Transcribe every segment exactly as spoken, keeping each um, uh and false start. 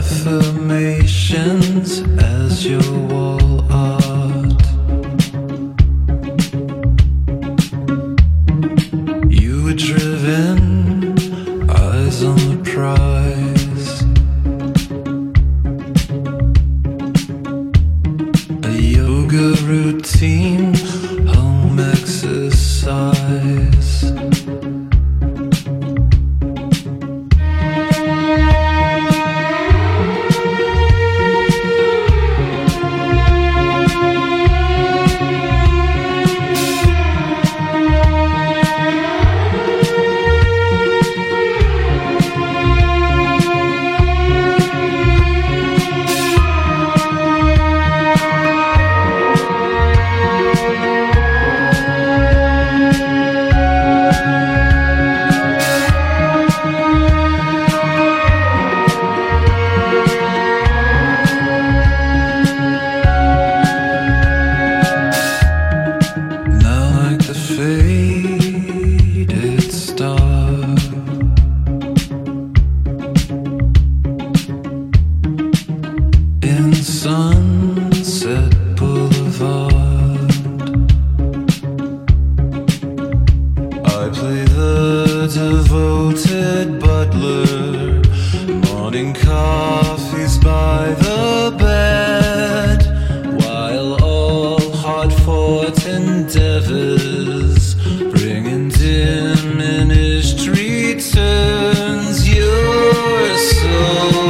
affirmations as your wall art. You were driven, eyes on the prize. A yoga routine, home exercise. Sunset Boulevard, I play the devoted butler, morning coffees by the bed, while all hard-fought endeavors bring in diminished returns. You're so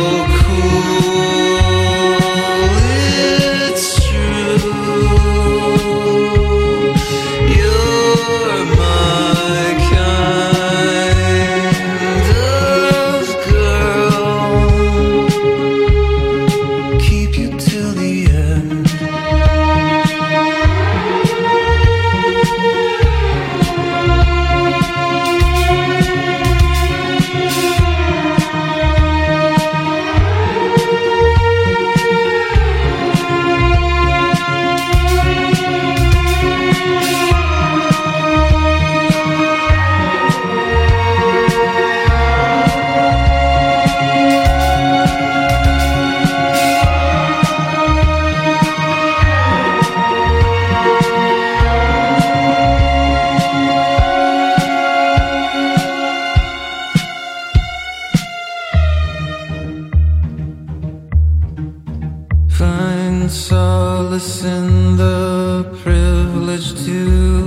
find solace in the privilege to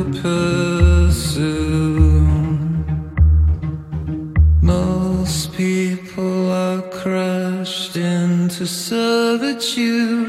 pursue. Most people are crushed into servitude.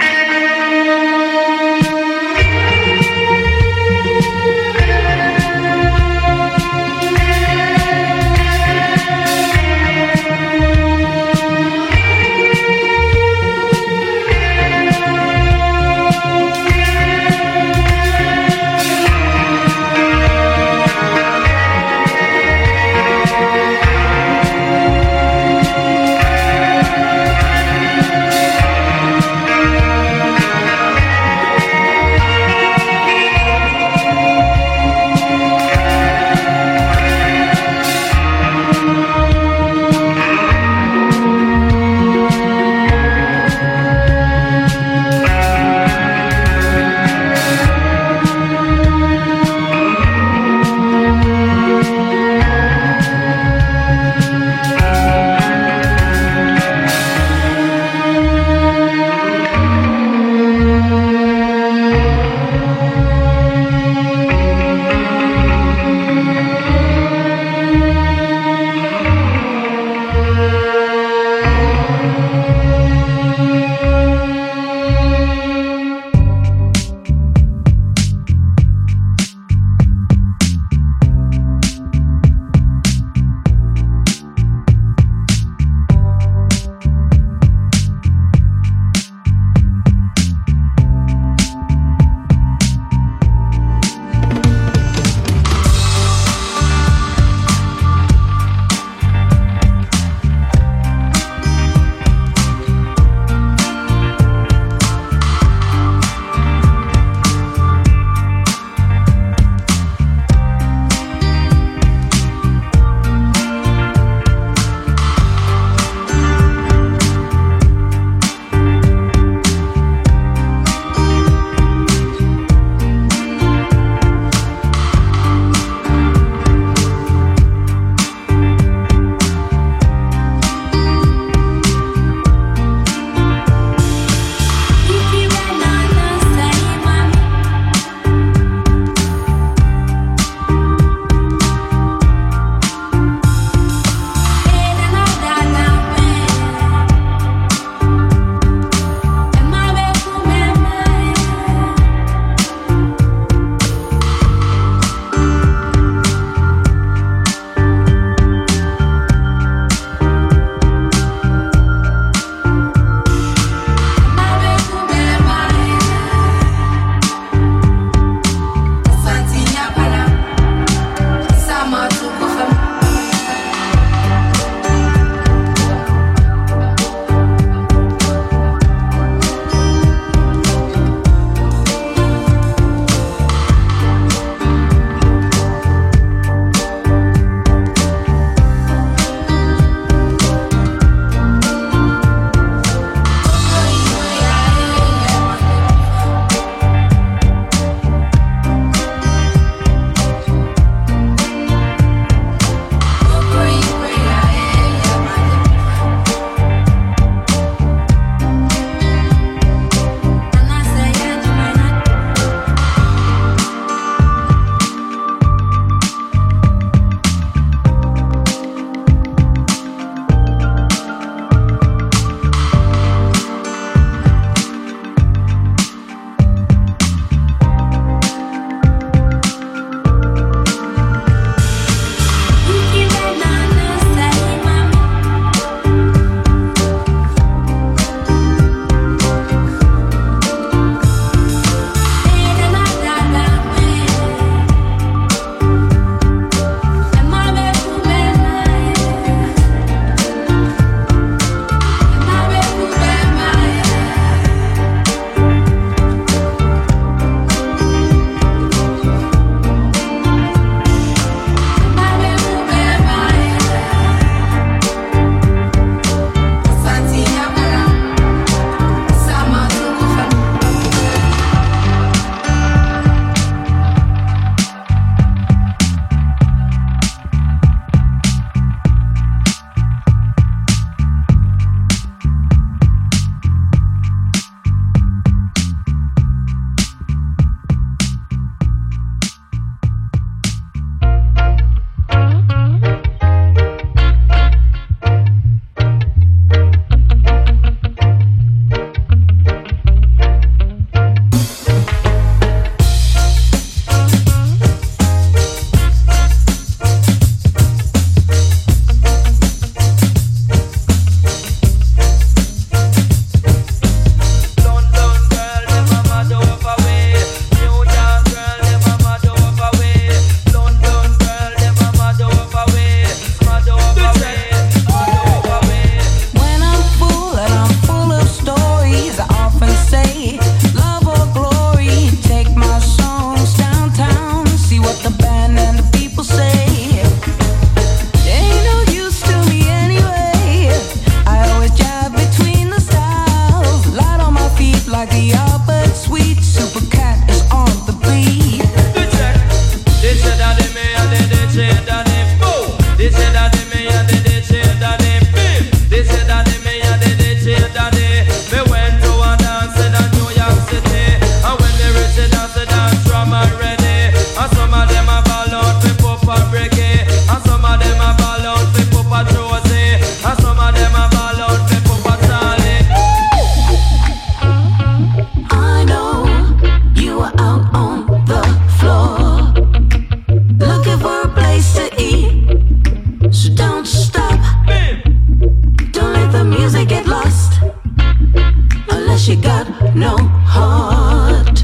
she got no heart.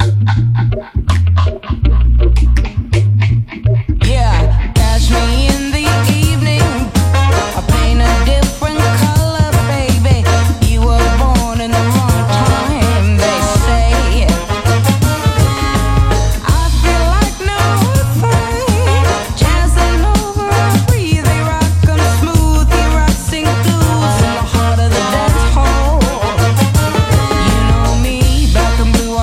Yeah, catch me in the evening. I paint a different color, baby. You were born in the wrong time, they say. I feel like no thing, jazzing over a breathy rock. I'm smoothie rocking blues in the heart of the dance hall. You know me, black and blue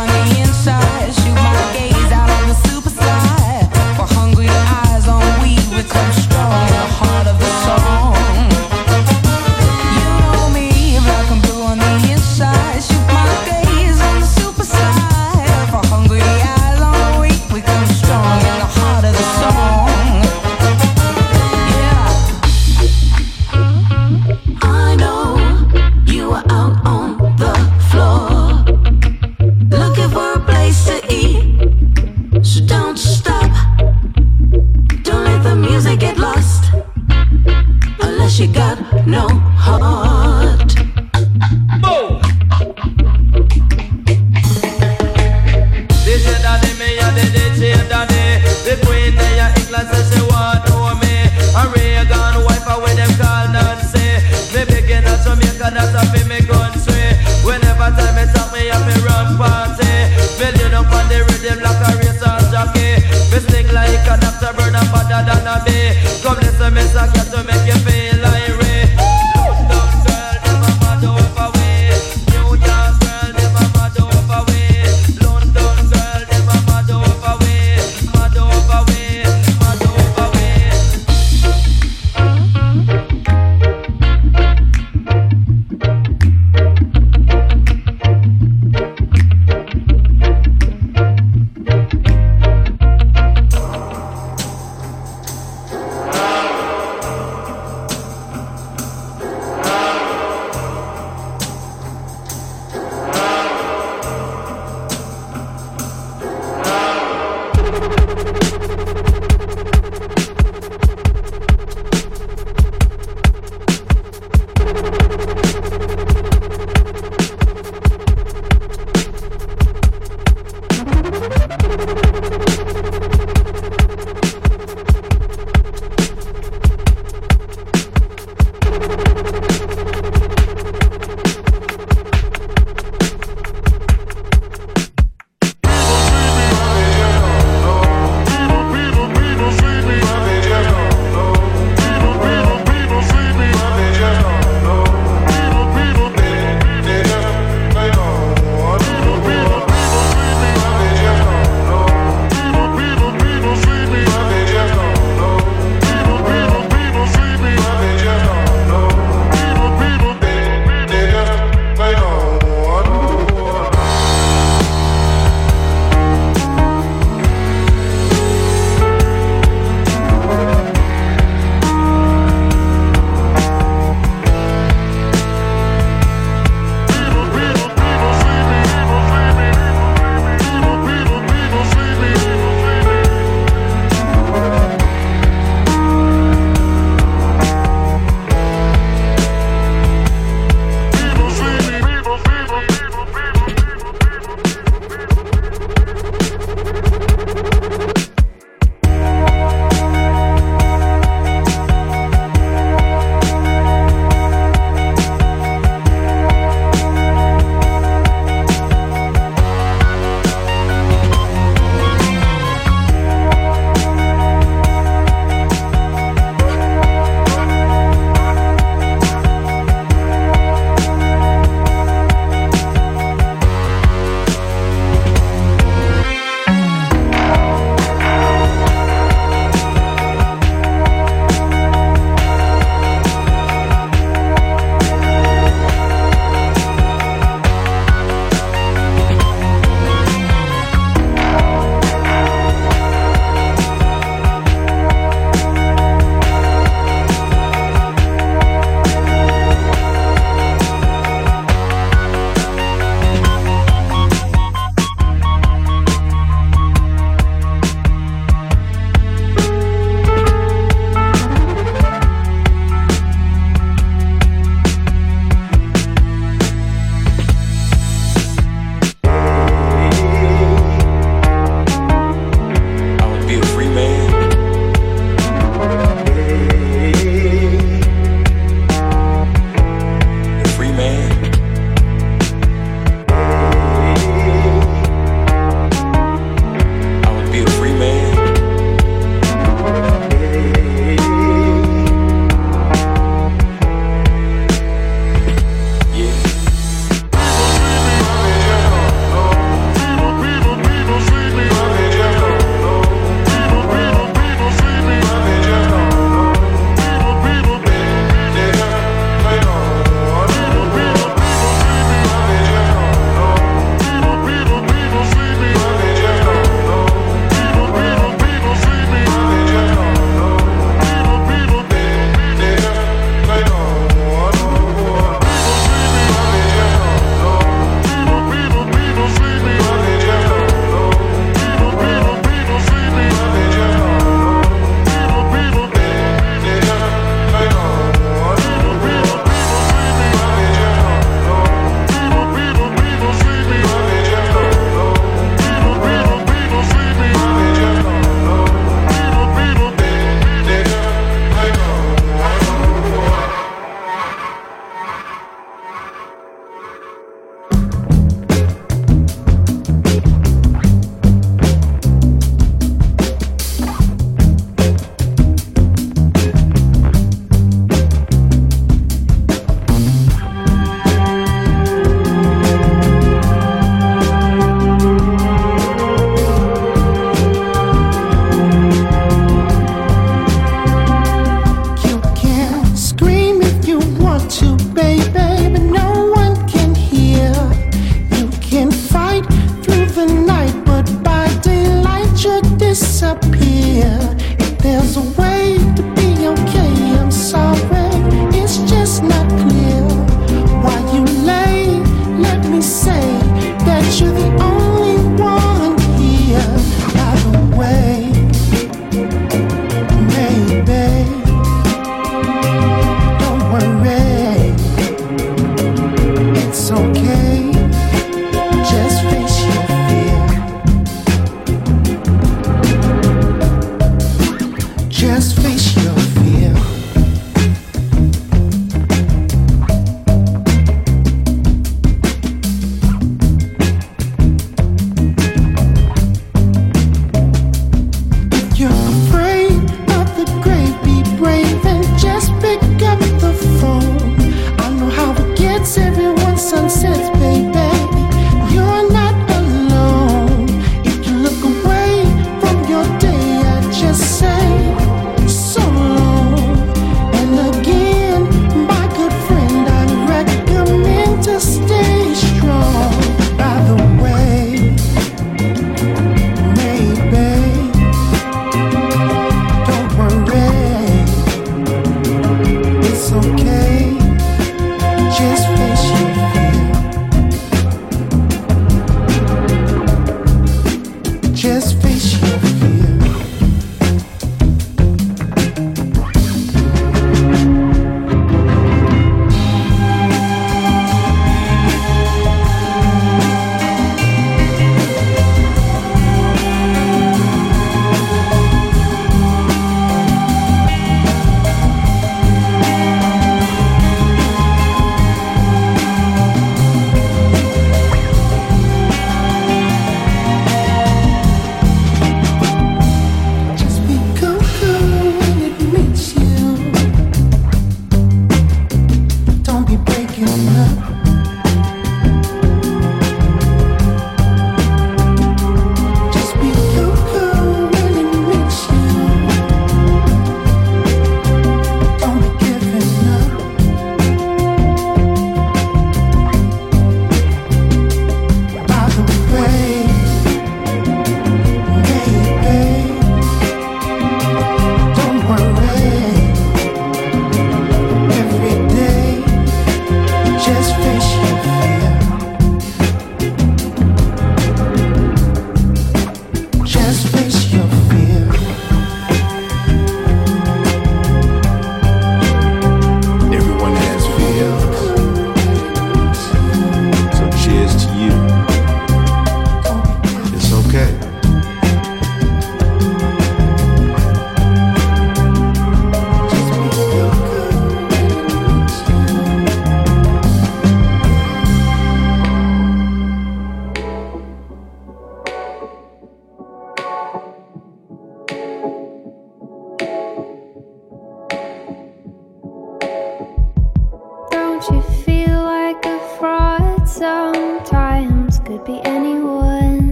could be anyone.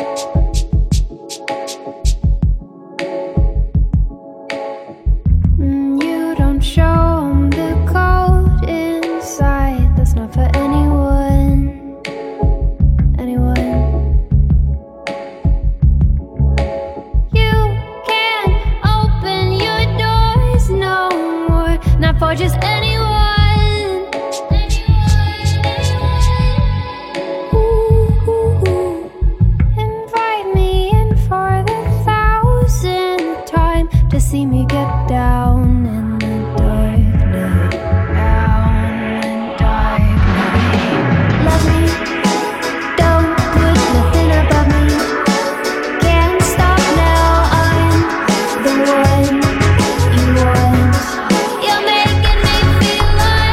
Mm, you don't show 'em the cold inside. That's not for anyone. Anyone. You can't open your doors no more. Not for just anyone. See me get down in the dark night, down in the dark night. Love me, don't put nothing above me. Can't stop now, I'm the one you want. You're making me feel like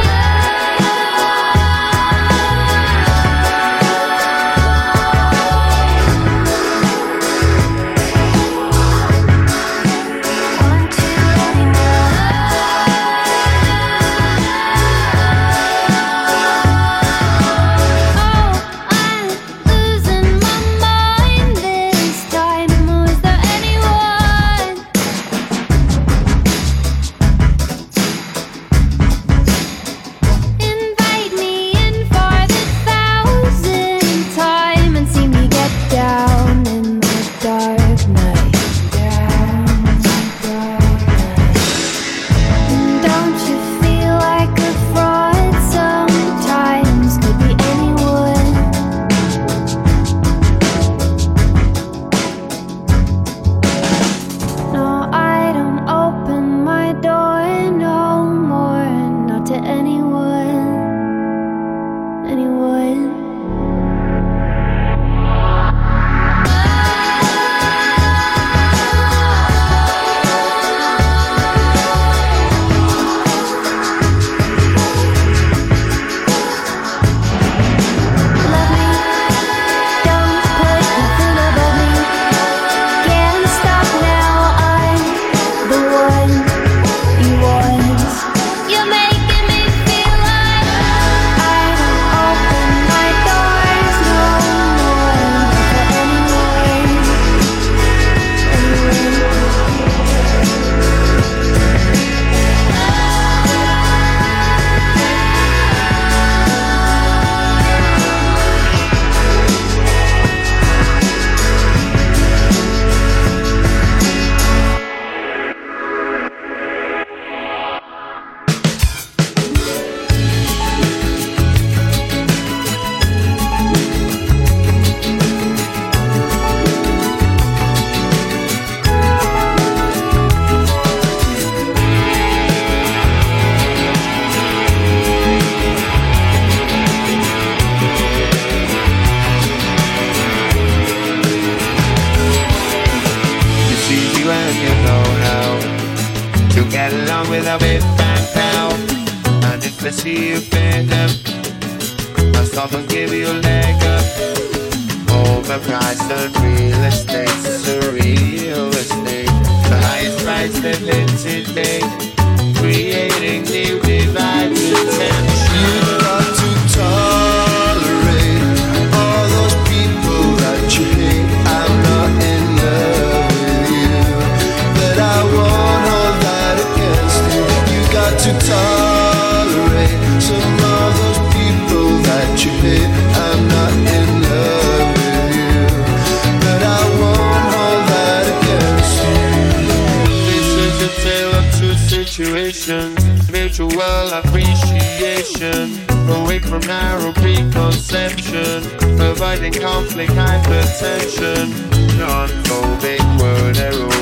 mutual appreciation, away from narrow preconception, avoiding conflict, hypertension, non-phobic word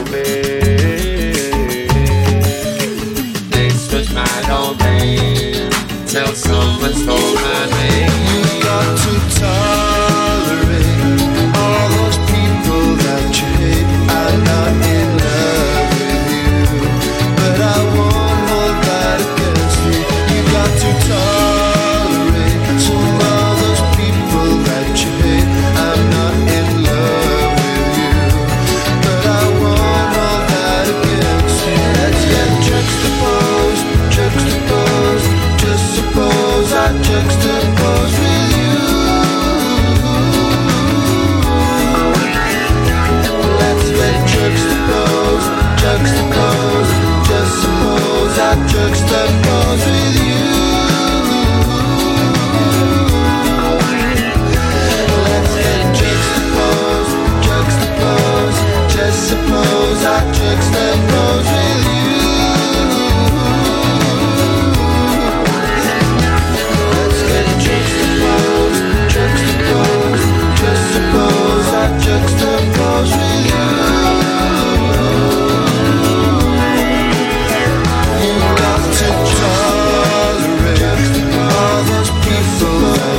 aerobic. This was my domain, till someone stole my name. You got to tolerate all those people that you hate. I'm not in love with you, but I won't hold that against you. You got to tolerate some of those people that you hate. I'm not in love with you, but I won't hold that against you. Let's get juxtaposed, juxtaposed. Just suppose I juxtapose.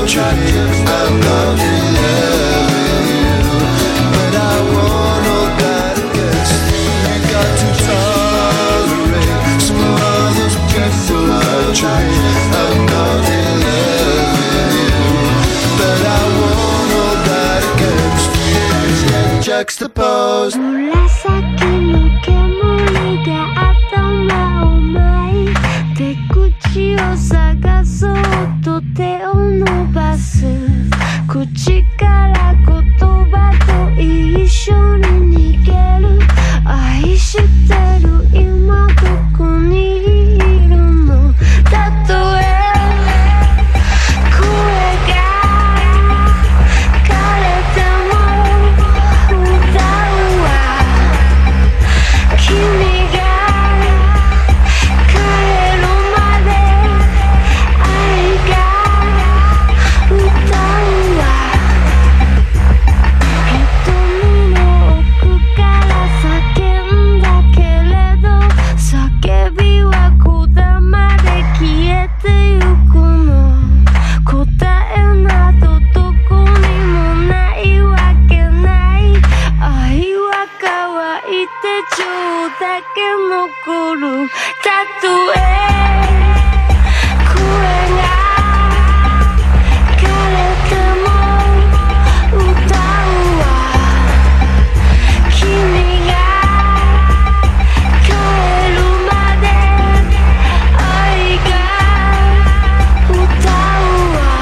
that you hate. I'm not in love with you, but I want all that against you. You got to tolerate some of those people that you hate. I'm not in love with you, but I want all that against you. Juxtapose. 紫の煙が頭を巻いて口を探そうと手を伸ばす口から言葉と一緒に逃げる愛してる今どこにいるのたとえ声が枯れても歌うわ君が帰るまで愛が歌うわ瞳の奥から叫んだけれど叫びはこだまで消えてゆくの答えなどどこにもないわけない愛は乾いてちょうだけ残るたとえ声が枯れても歌うわ君が帰るまで愛が歌うわ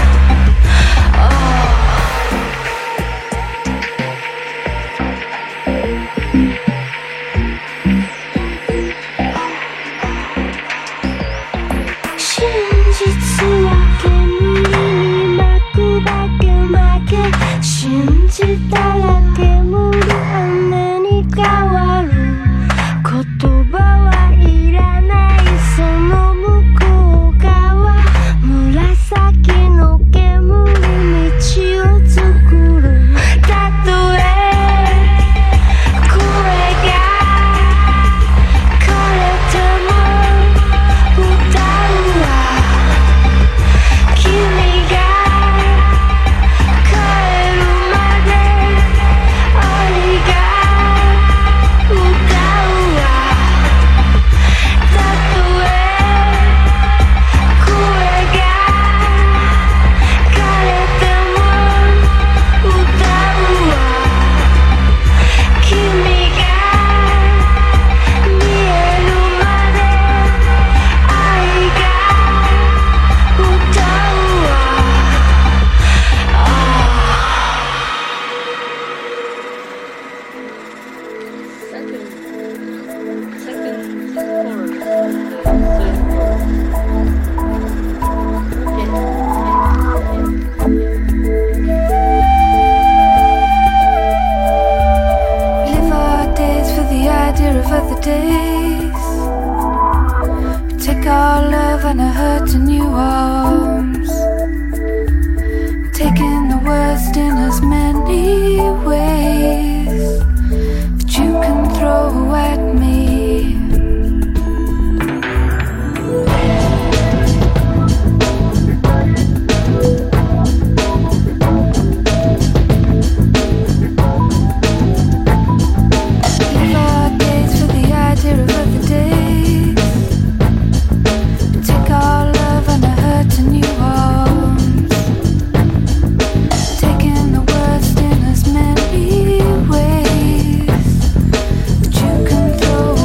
真実は煙に巻くだけ負け信じたら煙雨に変わる言葉はいらないその向こう側紫の煙道を作るたとえ声が枯れても歌うわ君が帰るまで愛が歌うわたとえ声が枯れても歌うわ君が見えるまで愛が歌うわLive our days for the idea of other days. We take our love and our hurt to new arms. Taking the worst in as many ways that you can throw at me. Live our days for the idea of other days. We take our love and our hurt to new arms. Taking the worst in as many ways that you can throw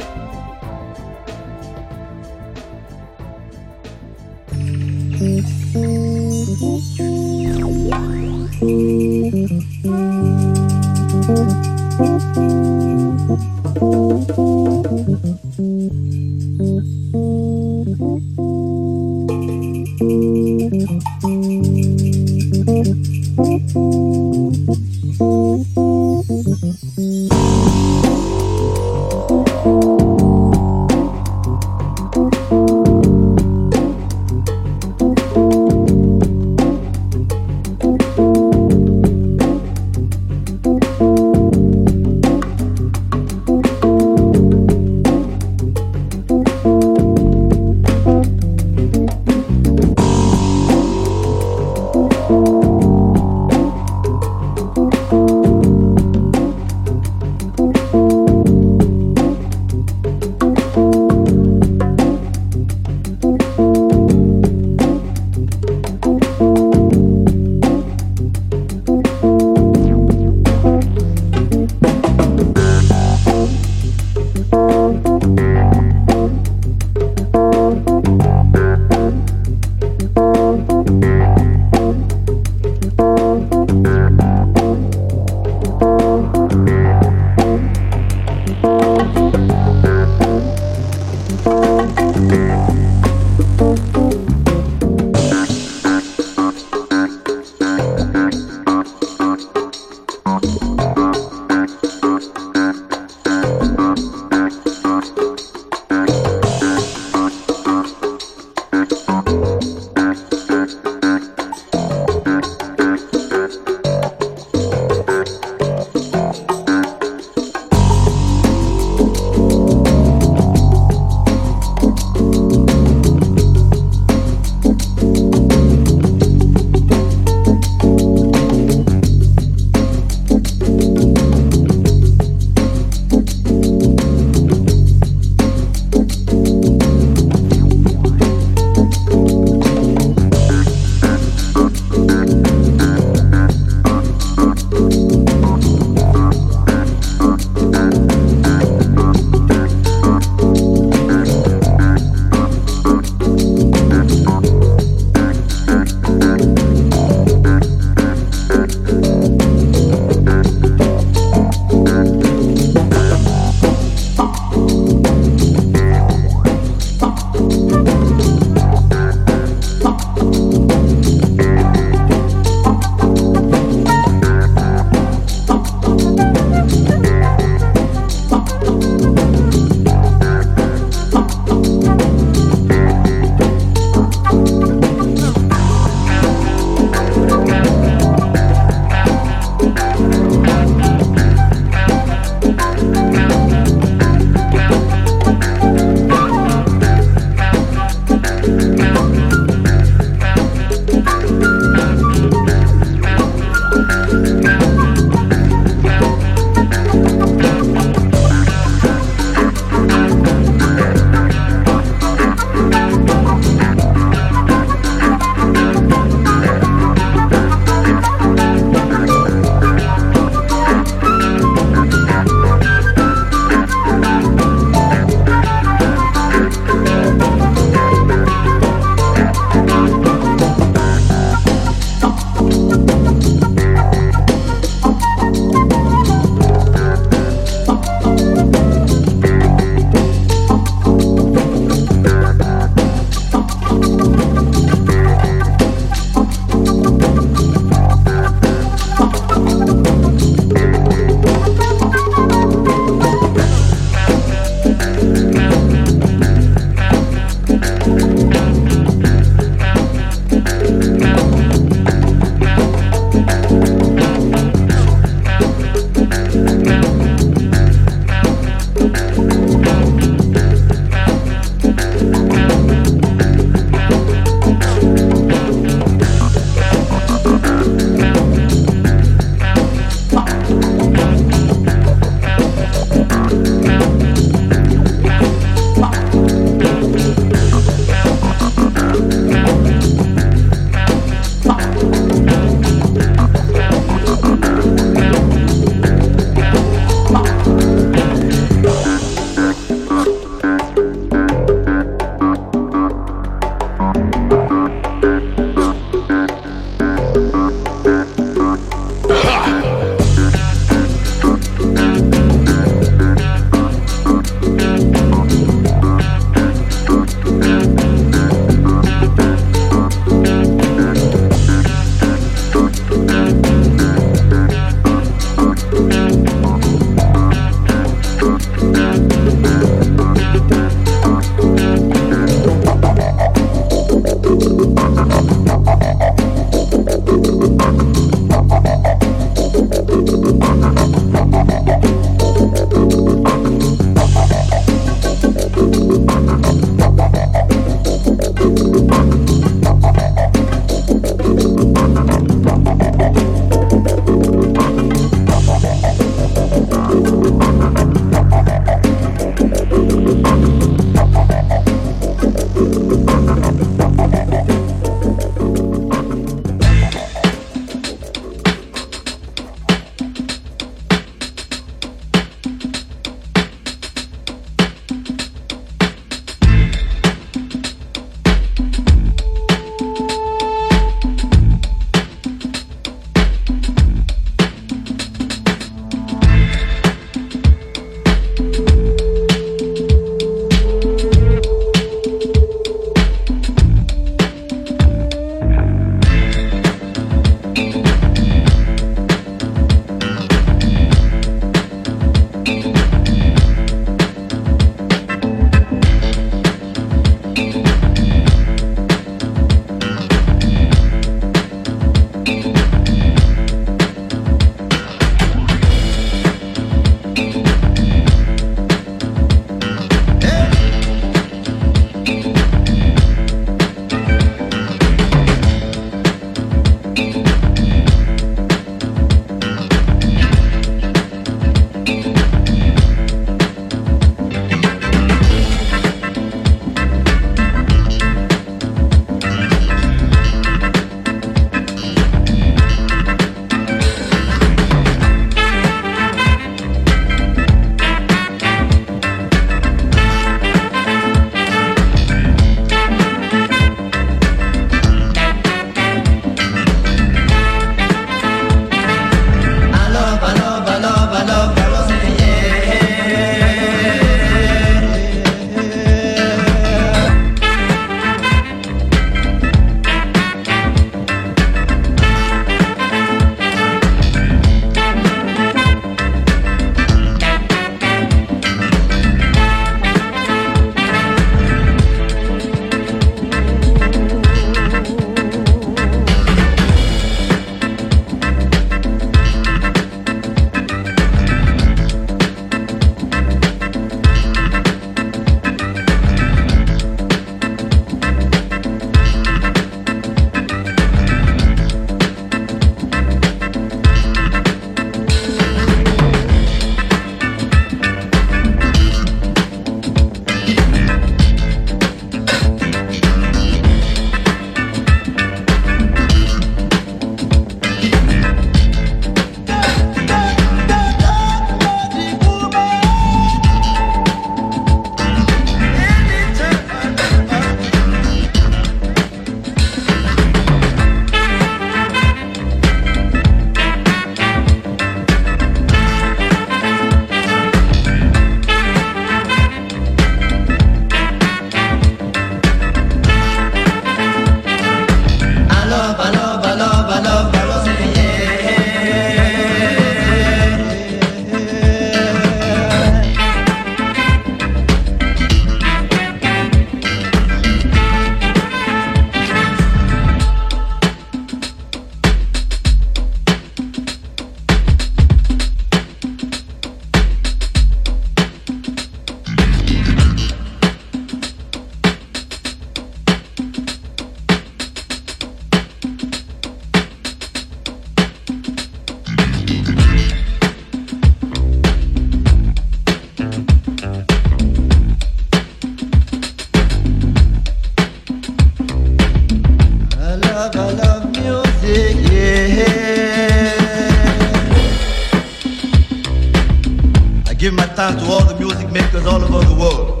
makers all over the world,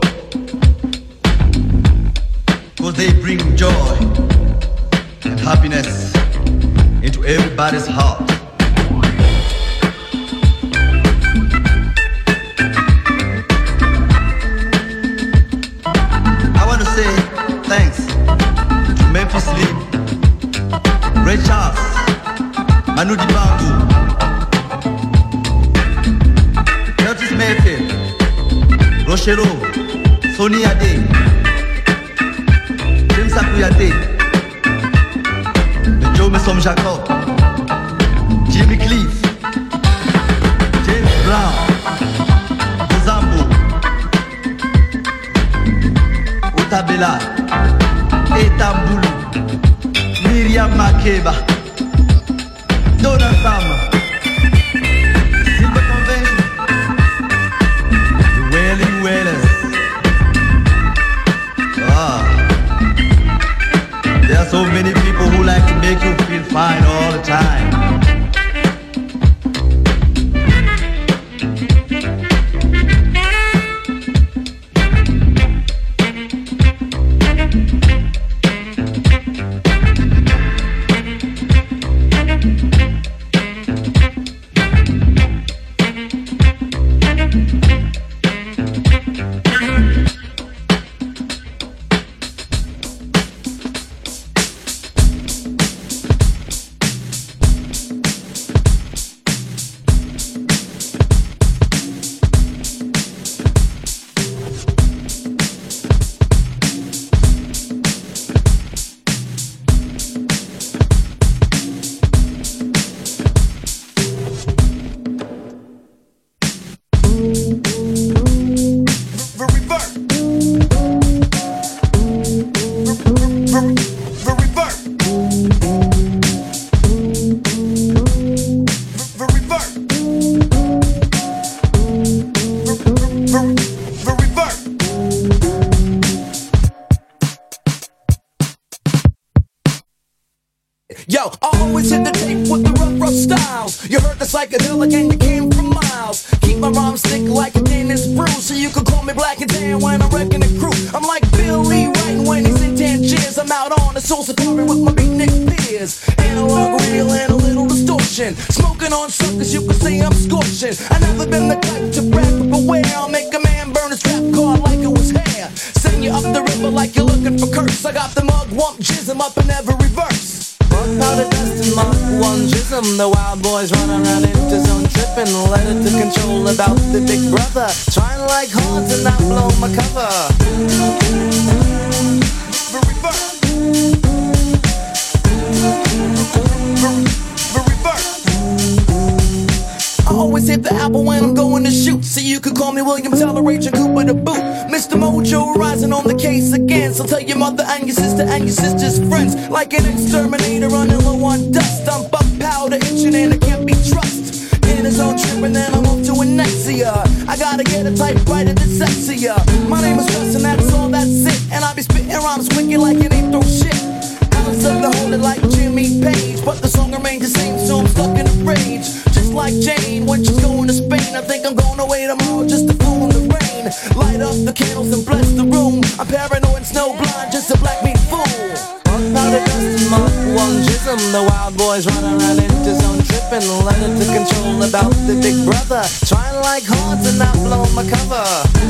because they bring joy and happiness into everybody's heart. I want to say thanks to Memphis Lee, Ray Charles, Manu Dibango, Curtis Mayfield, Rochero, Sonny Ade, James Akuyate, Joe Messom Jacob, Jimmy Cliff, James Brown, Bozambo, Otabela, Etambulu, Miriam Makeba, Donna Sama, Silver Convention, the Wailing Wailers. Ah, there are so many people who like to make you feel fine all the time. Yo, I always hit the tape with the rough, rough styles. You heard the psychedelic and you came from miles. Keep my rhymes thick like a Dennis Bruce, so you can call me Black and Tan when I'm wrecking the crew. I'm like Billy Wright when he's in Tangiers. I'm out on the soul safari with my beatnik peers. Analog, real, and a little distortion. Smoking on suckers, you can say I'm scorching. I never been the type to brag, but beware, I'll make a man burn his trap card like it was hair. Send you up the river like you're looking for curse. I got the mug, wump, jism up in every verse. Powder dust and Mark one jism. The wild boys run around into zone tripping. Let it to control about the big brother. Trying like horns and not blow my cover. I always hit the apple when I'm going to shoot. So you could call me William Toleration Cooper the boot. Mister Mojo rising on the case again. So tell your mother and your sister and your sister's friends. Like an exterminator running low on dust. I'm buck powder itching and it can't be trust. In his own trip and then I'm off to Anexia. I gotta get a typewriter that's sexier. My name is Russ and that's all, that's it. And I be spitting rhymes wicked like it ain't no shit. Alice up to hold it like Jimmy Page. But the song remains the same, so I'm stuck in a rage. Just like Jane when she's going to Spain. I think I'm going away tomorrow just to fool in the rain. Light up the candles and bless the room. I'm paranoid, snowblind, just a black meat fool. Powder dust and Mark one jism. The wild boys run around into zone tripping. Let it to control about the big brother. Trying like horns and not blow my cover.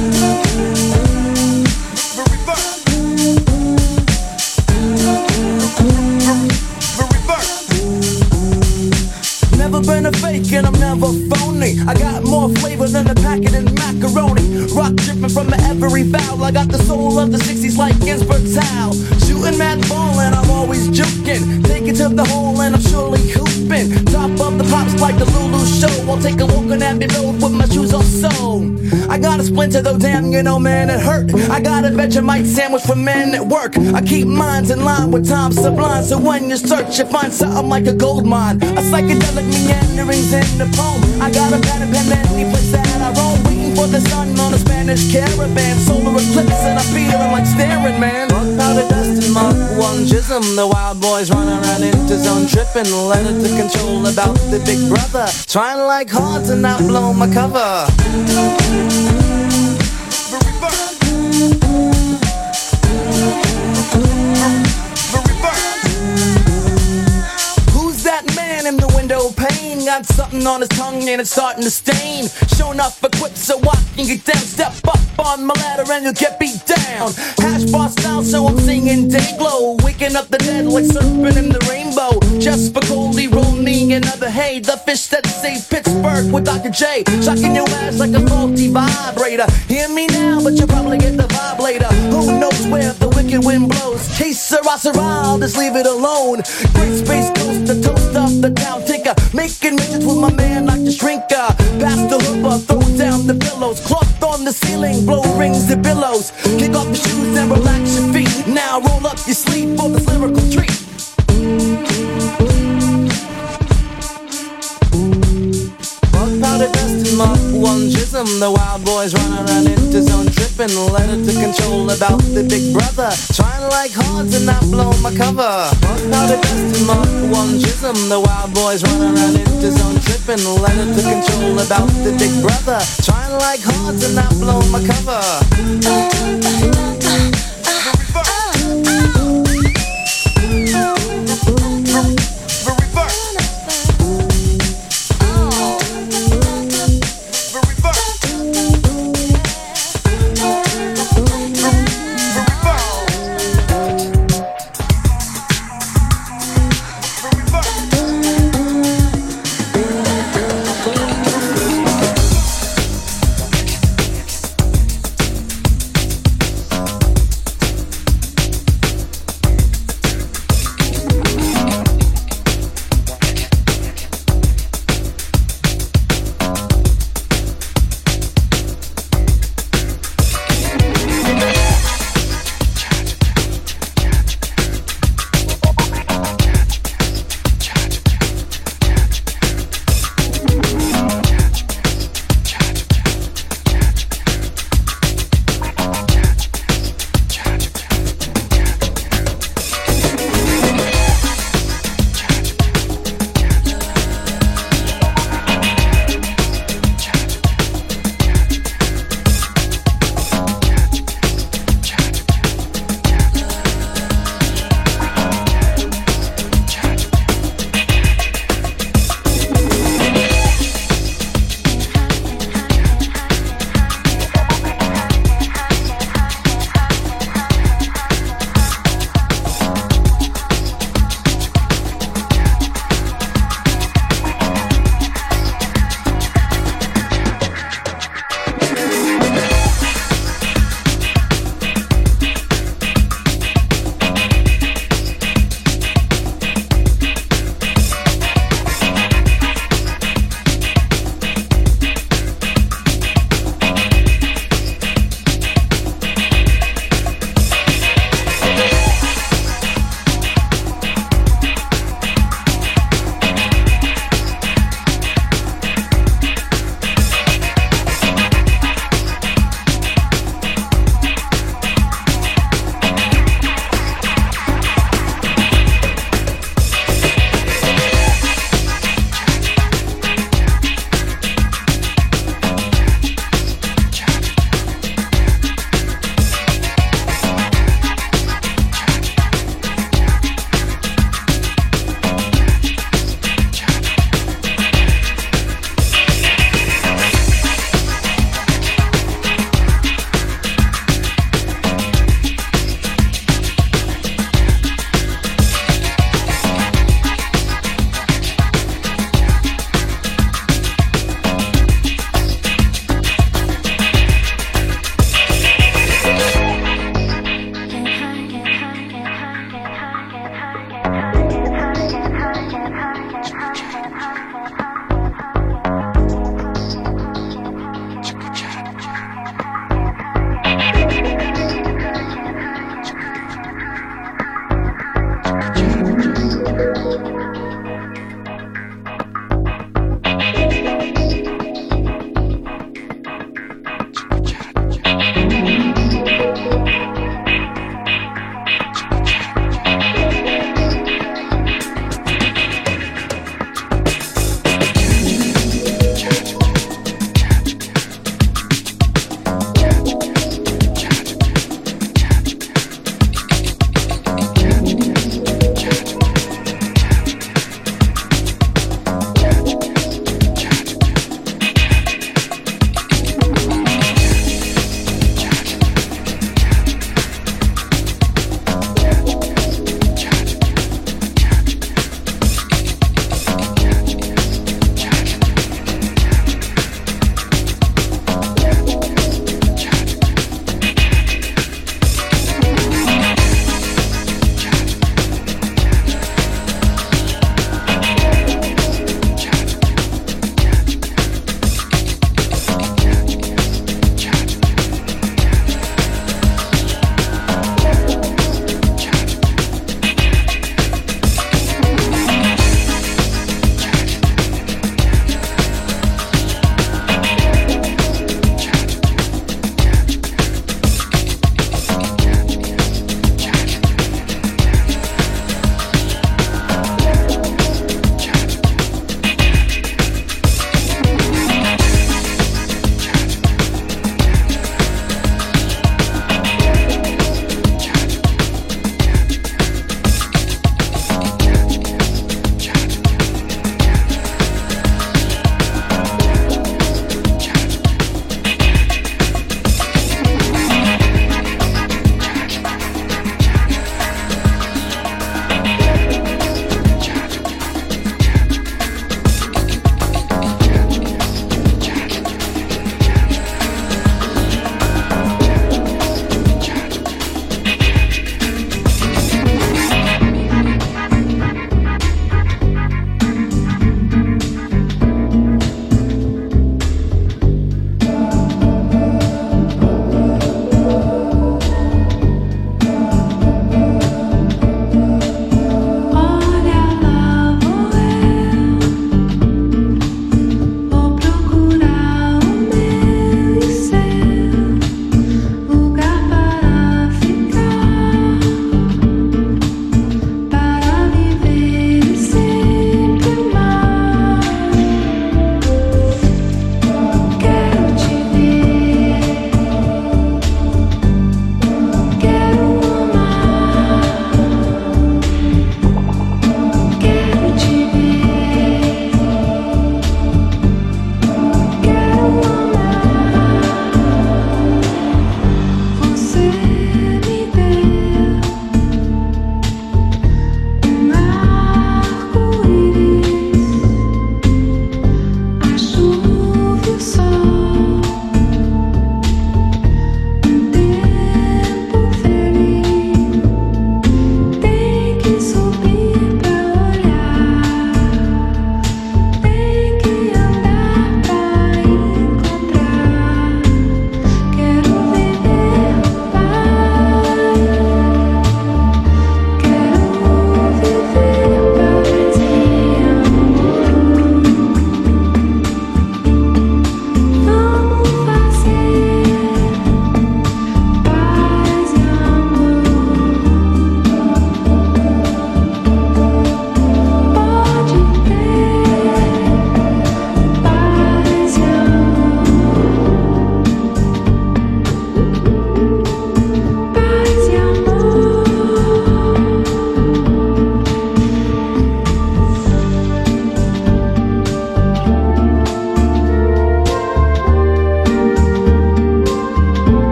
Never been a fake and I'm never phony. I got more flavor than a packet in macaroni. Rock dripping from every valve. I got the soul of the sixties like Ginsberg's Howl. Shooting mad ball and I'm always juking. Take it to the hole and I'm surely hooping. Top of the pops like the Lulu show. I'll take a walk on Abbey Road with my shoes off sewn. I got a splinter though, damn, you know, man, it hurt. I got a Vegemite sandwich for men at work. I keep minds in line with time sublime. So when you search, you find something like a gold mine. A psychedelic meanderings in the poem. I got a pen and pen any place that I roam. Waiting for the sun on a Spanish caravan. Solar eclipse and I'm feeling like staring, man. Powder dust and Mark one jism. The wild boys run around into zone tripping. Let it to control about the big brother. Trying like hard to not blow my cover. something on his tongue and it's starting to stain. Showing up equipped so I can get down. Step up on my ladder and you'll get beat down. Hash bar style, so I'm singing day glow. Waking up the dead like surfing in the rainbow. Just for Goldie, roll me another hay. The fish that saved Pittsburgh with Doctor J. Shocking your ass like a faulty vibrator. Hear me now, but you'll probably get the vibe later. Who knows where the wicked wind blows? Case Sirrah, I'll just leave it alone. Great space coast, the toast of the town tinker. Making midgets with my man like the shrinker. Pass the hooper, throw down the pillows. Cloth on the ceiling, blow rings and billows. Kick off your shoes and relax your feet. Now roll up your sleeve for this lyrical treat. Powder dust in my one jism. The wild boys run around into zone tripping. Letter to control about the big brother. Trying like hard to not blow my cover. Powder dust in my one jism. The wild boys run around into zone tripping. Letter to control about the big brother. Trying like hard to not blow my cover.